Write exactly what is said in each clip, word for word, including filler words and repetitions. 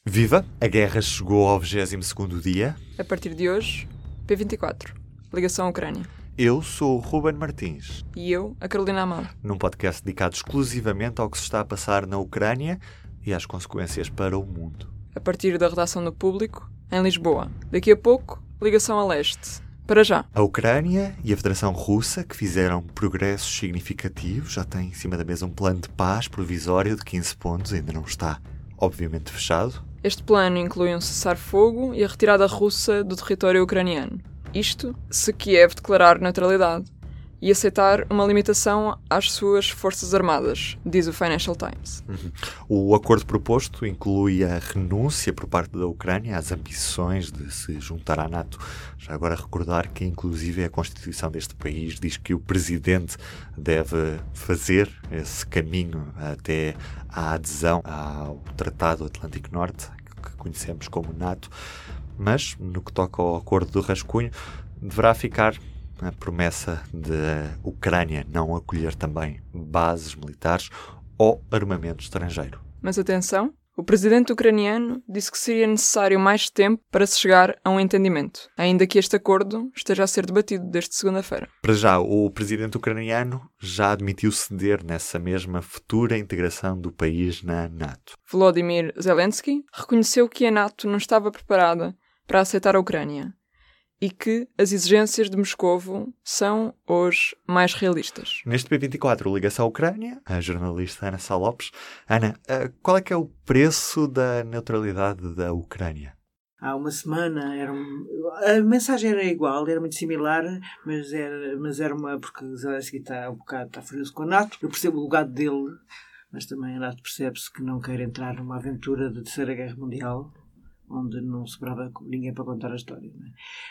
Viva! A guerra chegou ao vigésimo segundo dia. A partir de hoje, P vinte e quatro. Ligação à Ucrânia. Eu sou o Ruben Martins. E eu, a Carolina Amado. Num podcast dedicado exclusivamente ao que se está a passar na Ucrânia e às consequências para o mundo. A partir da redação do Público, em Lisboa. Daqui a pouco, ligação a leste. Para já. A Ucrânia e a Federação Russa, que fizeram progressos significativos, já têm em cima da mesa um plano de paz provisório de quinze pontos, ainda não está, obviamente, fechado. Este plano inclui um cessar-fogo e a retirada russa do território ucraniano. Isto se Kiev declarar neutralidade e aceitar uma limitação às suas forças armadas, diz o Financial Times. Uhum. O acordo proposto inclui a renúncia por parte da Ucrânia às ambições de se juntar à NATO. Já agora recordar que, inclusive, a Constituição deste país diz que o Presidente deve fazer esse caminho até à adesão ao Tratado Atlântico Norte, que conhecemos como NATO. Mas, no que toca ao acordo do rascunho, deverá ficar a promessa de Ucrânia não acolher também bases militares ou armamento estrangeiro. Mas atenção, o presidente ucraniano disse que seria necessário mais tempo para se chegar a um entendimento, ainda que este acordo esteja a ser debatido desde segunda-feira. Para já, o presidente ucraniano já admitiu ceder nessa mesma futura integração do país na NATO. Volodymyr Zelensky reconheceu que a NATO não estava preparada para aceitar a Ucrânia e que as exigências de Moscovo são, hoje, mais realistas. Neste P vinte e quatro, ligação à Ucrânia, a jornalista Ana Sá Lopes. Ana, qual é que é o preço da neutralidade da Ucrânia? Há uma semana, era um, a mensagem era igual, era muito similar, mas era, mas era uma... porque Zelensky está um bocado está furioso com a NATO. Eu percebo o legado dele, mas também a NATO percebe-se que não quer entrar numa aventura de Terceira Guerra Mundial, onde não sobrava ninguém para contar a história. Não é?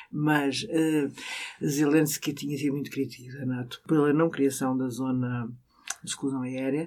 Mas uh, Zelensky tinha sido muito crítico da NATO pela não criação da zona de exclusão aérea,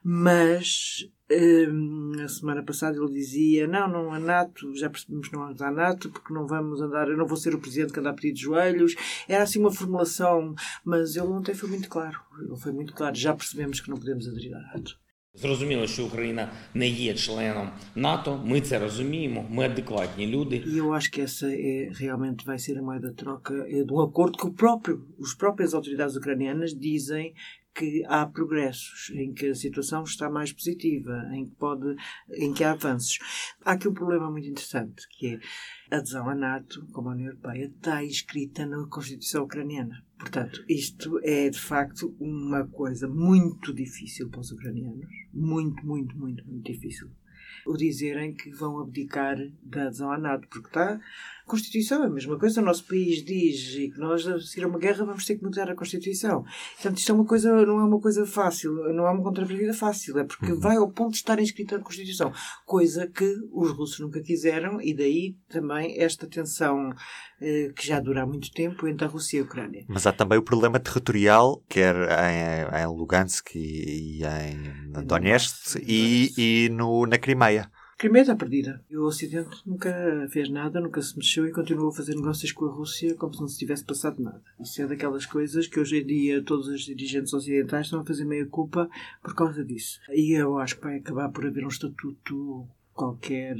mas uh, na semana passada ele dizia não, não a NATO, já percebemos que não vamos à NATO porque não vamos andar, eu não vou ser o presidente que anda a pedir de joelhos. Era assim uma formulação, mas ele ontem foi muito claro, ele foi muito claro, já percebemos que não podemos aderir à NATO. Зрозуміло, що Україна не є членом НАТО, ми це розуміємо, ми адекватні люди. E eu acho que essa é, realmente vai ser a moeda de troca é de um acordo que o próprio, as próprias autoridades ucranianas dizem que há progressos, em que a situação está mais positiva, em que, pode, em que há avanços. Há aqui um problema muito interessante, que é a adesão à NATO, como a União Europeia, está inscrita na Constituição ucraniana. Portanto, isto é, de facto, uma coisa muito difícil para os ucranianos. Muito, muito, muito, muito difícil. O dizerem que vão abdicar da adesão à NATO, porque está... A Constituição é a mesma coisa, o nosso país diz e que nós, a seguir a uma guerra, vamos ter que mudar a Constituição. Portanto, isto é uma coisa, não é uma coisa fácil, não é uma contrapartida fácil, é porque vai ao ponto de estar inscrita na Constituição, coisa que os russos nunca quiseram, e daí também esta tensão eh, que já dura há muito tempo entre a Rússia e a Ucrânia. Mas há também o problema territorial, quer em, em Lugansk e em Donetsk e, e no, na Crimeia. A Crimeia está perdida. E o Ocidente nunca fez nada, nunca se mexeu e continuou a fazer negócios com a Rússia como se não se tivesse passado nada. Isso é daquelas coisas que hoje em dia todos os dirigentes ocidentais estão a fazer meia culpa por causa disso. E eu acho que vai acabar por haver um estatuto qualquer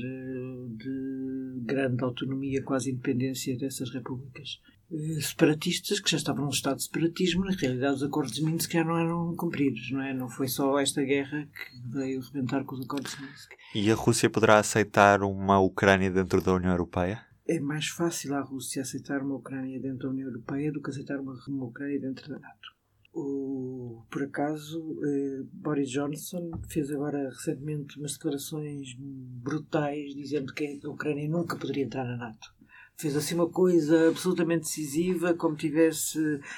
de grande autonomia, quase independência dessas repúblicas. Separatistas, que já estavam num estado de separatismo, na realidade os acordos de Minsk já não eram cumpridos, não é? Não foi só esta guerra que veio rebentar com os acordos de Minsk. E a Rússia poderá aceitar uma Ucrânia dentro da União Europeia? É mais fácil a Rússia aceitar uma Ucrânia dentro da União Europeia do que aceitar uma, uma Ucrânia dentro da NATO. O, por acaso, eh, Boris Johnson fez agora recentemente umas declarações brutais dizendo que a Ucrânia nunca poderia entrar na NATO. Fez assim uma coisa absolutamente decisiva, como tivesse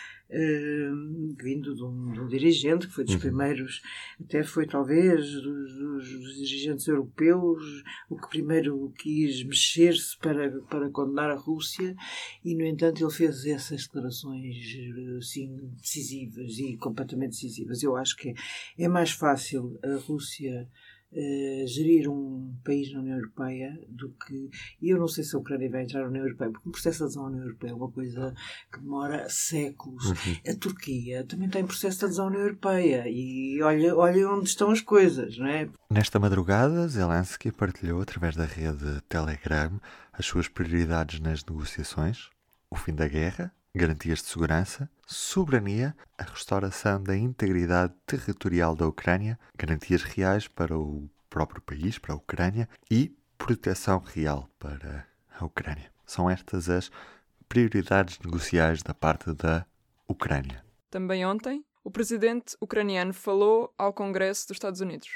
uh, vindo de um, de um dirigente, que foi dos primeiros, até foi talvez dos, dos, dos dirigentes europeus, o que primeiro quis mexer-se para, para condenar a Rússia, e no entanto ele fez essas declarações assim, decisivas e completamente decisivas. Eu acho que é, é mais fácil a Rússia uh, gerir um país na União Europeia do que... E eu não sei se a Ucrânia vai entrar na União Europeia, porque o processo de adesão à União Europeia é uma coisa que demora séculos. Uhum. A Turquia também está em processo de adesão à União Europeia e olha, olha onde estão as coisas, não é? Nesta madrugada, Zelensky partilhou através da rede Telegram as suas prioridades nas negociações: o fim da guerra, garantias de segurança, soberania, a restauração da integridade territorial da Ucrânia, garantias reais para o próprio país, para a Ucrânia, e proteção real para a Ucrânia. São estas as prioridades negociais da parte da Ucrânia. Também ontem, o presidente ucraniano falou ao Congresso dos Estados Unidos.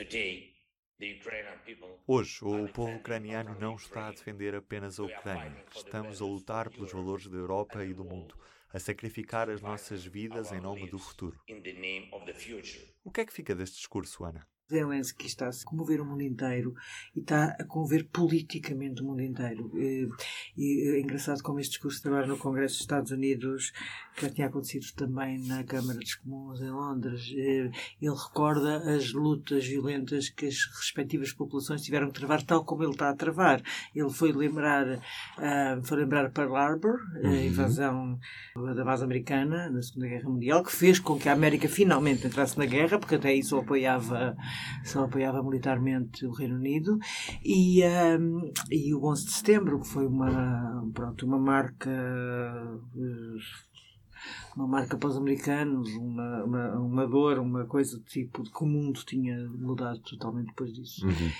Hoje, o povo ucraniano não está a defender apenas a Ucrânia. Estamos a lutar pelos valores da Europa e do mundo, a sacrificar as nossas vidas em nome do futuro. O que é que fica deste discurso, Ana? Zelensky está a comover o mundo inteiro e está a comover politicamente o mundo inteiro. E é engraçado como este discurso agora no Congresso dos Estados Unidos, que já tinha acontecido também na Câmara dos Comuns em Londres, ele recorda as lutas violentas que as respectivas populações tiveram que travar, tal como ele está a travar. Ele foi lembrar, uh, foi lembrar Pearl Harbor, a invasão da base americana na Segunda Guerra Mundial, que fez com que a América finalmente entrasse na guerra, porque até isso apoiava só apoiava militarmente o Reino Unido, e, um, e o onze de setembro, que foi uma, pronto, uma marca uma marca para os americanos, uma, uma, uma dor, uma coisa do tipo de que o mundo tinha mudado totalmente depois disso. Uhum.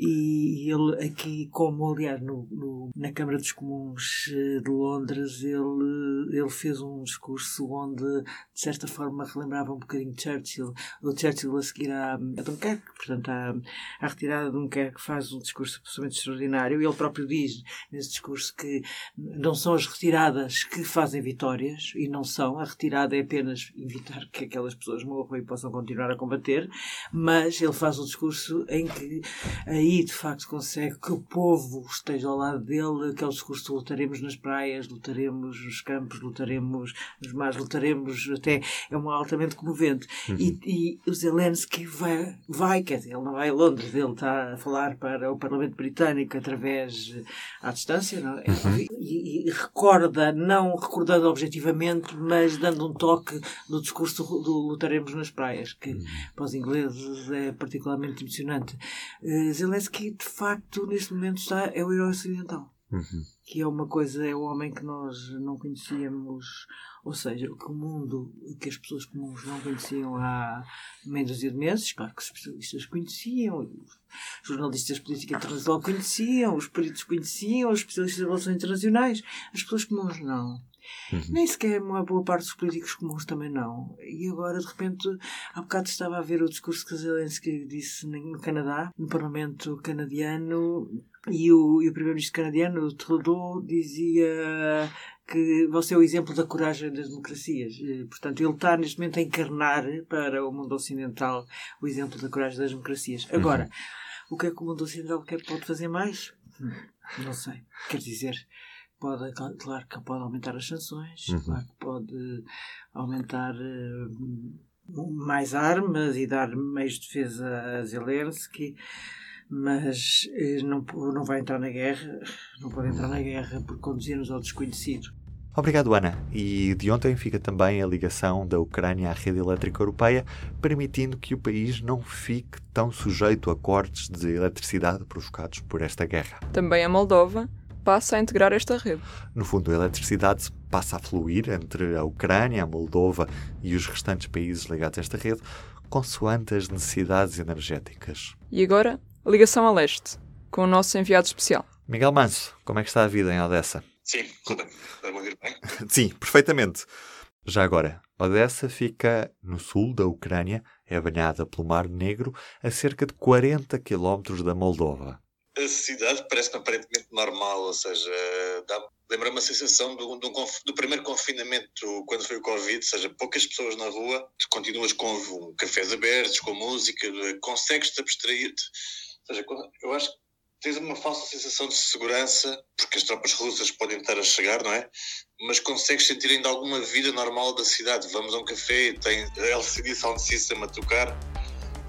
E ele aqui, como aliás no, no, na Câmara dos Comuns de Londres, ele, ele fez um discurso onde de certa forma relembrava um bocadinho de Churchill. O Churchill a seguir à, a Dunkerque, portanto à, à retirada de Dunkerque, faz um discurso absolutamente extraordinário, e ele próprio diz nesse discurso que não são as retiradas que fazem vitórias, e não são, a retirada é apenas evitar que aquelas pessoas morram e possam continuar a combater, mas ele faz um discurso em que aí de facto consegue que o povo esteja ao lado dele, que é o discurso de lutaremos nas praias, lutaremos nos campos, lutaremos nos mares, lutaremos até, é um altamente comovente. Uhum. E, e o Zelensky vai, vai, quer dizer, ele não vai a Londres, ele está a falar para o Parlamento Britânico através, à distância, não é? Uhum. E, e recorda, não recordando objetivamente, mas dando um toque no discurso do lutaremos nas praias, que uhum. para os ingleses é particularmente emocionante. Uh, Zelensky, de facto, neste momento está, é o herói ocidental. Uhum. Que é uma coisa, é o homem que nós não conhecíamos, ou seja, que o mundo, que as pessoas comuns não conheciam há meia dúzia de meses. Claro que os especialistas conheciam, os jornalistas de política internacional conheciam, os peritos conheciam, os especialistas de relações internacionais, as pessoas comuns não. Uhum. Nem sequer uma boa parte dos políticos comuns também não. E agora, de repente, há bocado estava a ver o discurso que Zelensky disse no Canadá, no Parlamento canadiano, e o, e o primeiro-ministro canadiano, Trudeau, dizia que você é o exemplo da coragem das democracias. Portanto, ele está neste momento a encarnar para o mundo ocidental o exemplo da coragem das democracias. Agora, uhum. o que é que o mundo ocidental quer, pode fazer mais? Não sei. Quer dizer... Pode, claro que pode aumentar as sanções, uhum. claro que pode aumentar uh, mais armas e dar meios de defesa a Zelensky, mas uh, não, não vai entrar na guerra, não pode entrar na guerra por conduzir-nos ao desconhecido. Obrigado, Ana. E de ontem fica também a ligação da Ucrânia à rede elétrica europeia, permitindo que o país não fique tão sujeito a cortes de eletricidade provocados por esta guerra. Também a Moldova passa a integrar esta rede. No fundo, a eletricidade passa a fluir entre a Ucrânia, a Moldova e os restantes países ligados a esta rede, consoante as necessidades energéticas. E agora, a ligação a leste, com o nosso enviado especial. Miguel Manso, como é que está a vida em Odessa? Sim, tudo bem. Está-me a ouvir bem? Sim, perfeitamente. Já agora, Odessa fica no sul da Ucrânia, é banhada pelo Mar Negro, a cerca de quarenta quilómetros da Moldova. A cidade parece-me aparentemente normal, ou seja, lembra-me a sensação do, do, do primeiro confinamento, quando foi o Covid, ou seja, poucas pessoas na rua, continuas com cafés abertos, com música, consegues-te abstrair-te. Ou seja, eu acho que tens uma falsa sensação de segurança, porque as tropas russas podem estar a chegar, não é? Mas consegues sentir ainda alguma vida normal da cidade. Vamos a um café, tem a L C D Sound System a tocar.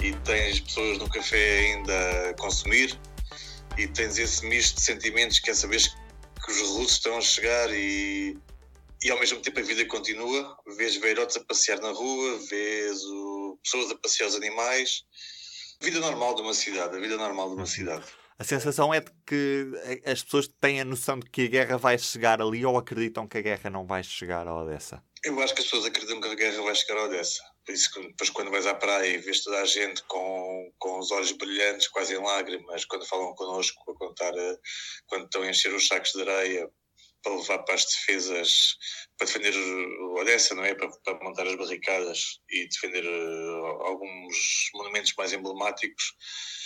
e tens pessoas no café ainda a consumir, e tens esse misto de sentimentos que é saber que os russos estão a chegar e, e ao mesmo tempo a vida continua. Vês velhotes a passear na rua, vês o, pessoas a passear os animais. A vida normal de uma cidade, a vida normal de uma cidade. A sensação é de que as pessoas têm a noção de que a guerra vai chegar ali ou acreditam que a guerra não vai chegar a Odessa? Eu acho que as pessoas acreditam que a guerra vai chegar a Odessa. Por isso que depois quando vais à praia e vês toda a gente com, com os olhos brilhantes, quase em lágrimas, quando falam connosco, a contar, quando estão a encher os sacos de areia para levar para as defesas, para defender Odessa, não é? Para, para montar as barricadas e defender uh, alguns monumentos mais emblemáticos.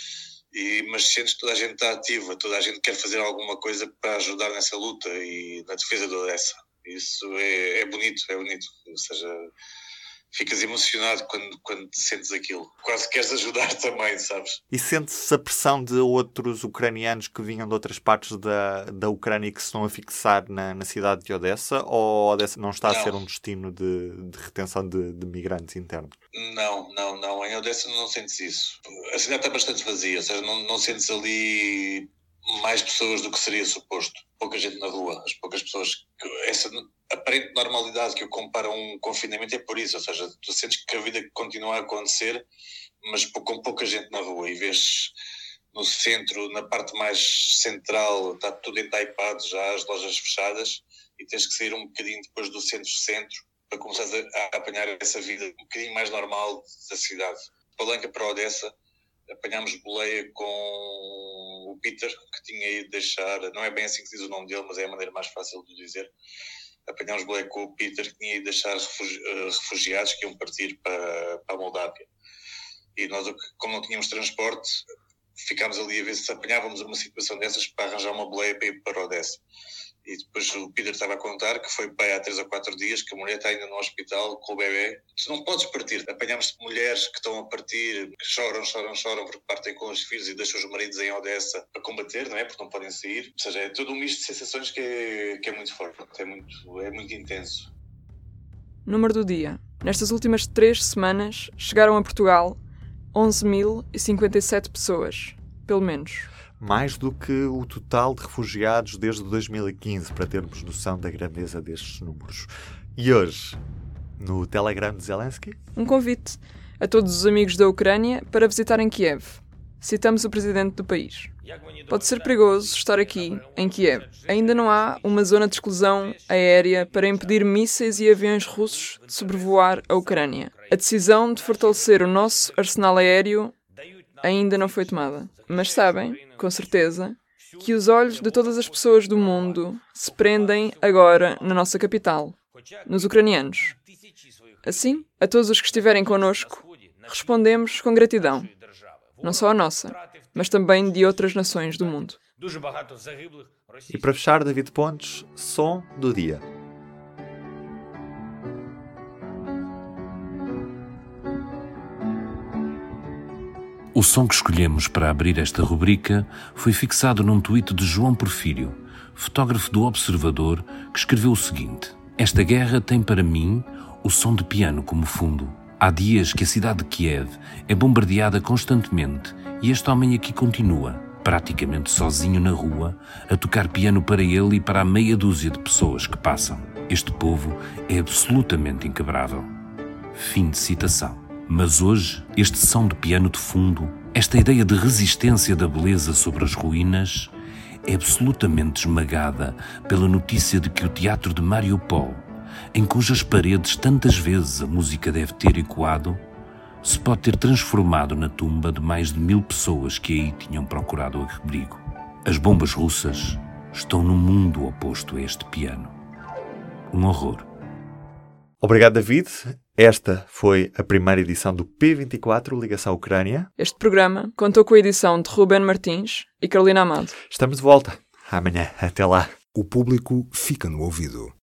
E, mas sentes que toda a gente está ativa, toda a gente quer fazer alguma coisa para ajudar nessa luta e na defesa de Odessa. Isso é, é bonito, é bonito. Ou seja, ficas emocionado quando, quando sentes aquilo. Quase queres ajudar também, sabes? E sente-se a pressão de outros ucranianos que vinham de outras partes da, da Ucrânia e que se estão a fixar na, na cidade de Odessa? Ou Odessa não está não. a ser um destino de, de retenção de, de migrantes internos? Não, não, não. Em Odessa não sentes isso. A cidade está bastante vazia, ou seja, não, não sentes ali mais pessoas do que seria suposto. Pouca gente na rua. As poucas pessoas... Que, essa aparente normalidade que eu comparo a um confinamento é por isso, ou seja, tu sentes que a vida continua a acontecer, mas com pouca gente na rua, e vês no centro, na parte mais central, está tudo entaipado já, as lojas fechadas, e tens que sair um bocadinho depois do centro-centro para começar a, a apanhar essa vida um bocadinho mais normal da cidade. Palanca para Odessa, apanhámos boleia com o Peter, que tinha ido deixar, não é bem assim que se diz o nome dele, mas é a maneira mais fácil de dizer. Apanhámos boleia com o Peter, que tinha ido deixar refugi- refugiados que iam partir para, para a Moldávia. E nós, como não tínhamos transporte, ficámos ali a ver se apanhávamos uma situação dessas para arranjar uma boleia para ir para Odessa. E depois o Peter estava a contar que foi pai há três ou quatro dias, que a mulher está ainda no hospital com o bebê. Tu não podes partir. Apanhamos mulheres que estão a partir, que choram, choram, choram porque partem com os filhos e deixam os maridos em Odessa para combater, não é? Porque não podem sair. Ou seja, é todo um misto de sensações que é, que é muito forte, é muito, é muito intenso. Número do dia. Nestas últimas três semanas chegaram a Portugal onze mil e cinquenta e sete pessoas, pelo menos. Mais do que o total de refugiados desde dois mil e quinze, para termos noção da grandeza destes números. E hoje, no Telegram de Zelensky, um convite a todos os amigos da Ucrânia para visitarem Kiev. Citamos o presidente do país. Pode ser perigoso estar aqui, em Kiev. Ainda não há uma zona de exclusão aérea para impedir mísseis e aviões russos de sobrevoar a Ucrânia. A decisão de fortalecer o nosso arsenal aéreo ainda não foi tomada. Mas sabem, com certeza, que os olhos de todas as pessoas do mundo se prendem agora na nossa capital, nos ucranianos. Assim, a todos os que estiverem connosco, respondemos com gratidão. Não só a nossa, mas também de outras nações do mundo. E para fechar, David Pontes, som do dia. O som que escolhemos para abrir esta rubrica foi fixado num tweet de João Porfírio, fotógrafo do Observador, que escreveu o seguinte: esta guerra tem para mim o som de piano como fundo. Há dias que a cidade de Kiev é bombardeada constantemente e este homem aqui continua, praticamente sozinho na rua, a tocar piano para ele e para a meia dúzia de pessoas que passam. Este povo é absolutamente inquebrável. Fim de citação. Mas hoje, este som de piano de fundo, esta ideia de resistência da beleza sobre as ruínas, é absolutamente esmagada pela notícia de que o teatro de Mariupol, em cujas paredes tantas vezes a música deve ter ecoado, se pode ter transformado na tumba de mais de mil pessoas que aí tinham procurado abrigo. As bombas russas estão no mundo oposto a este piano. Um horror. Obrigado, David. Esta foi a primeira edição do P vinte e quatro, Ligação Ucrânia. Este programa contou com a edição de Ruben Martins e Carolina Amado. Estamos de volta. Amanhã. Até lá. O público fica no ouvido.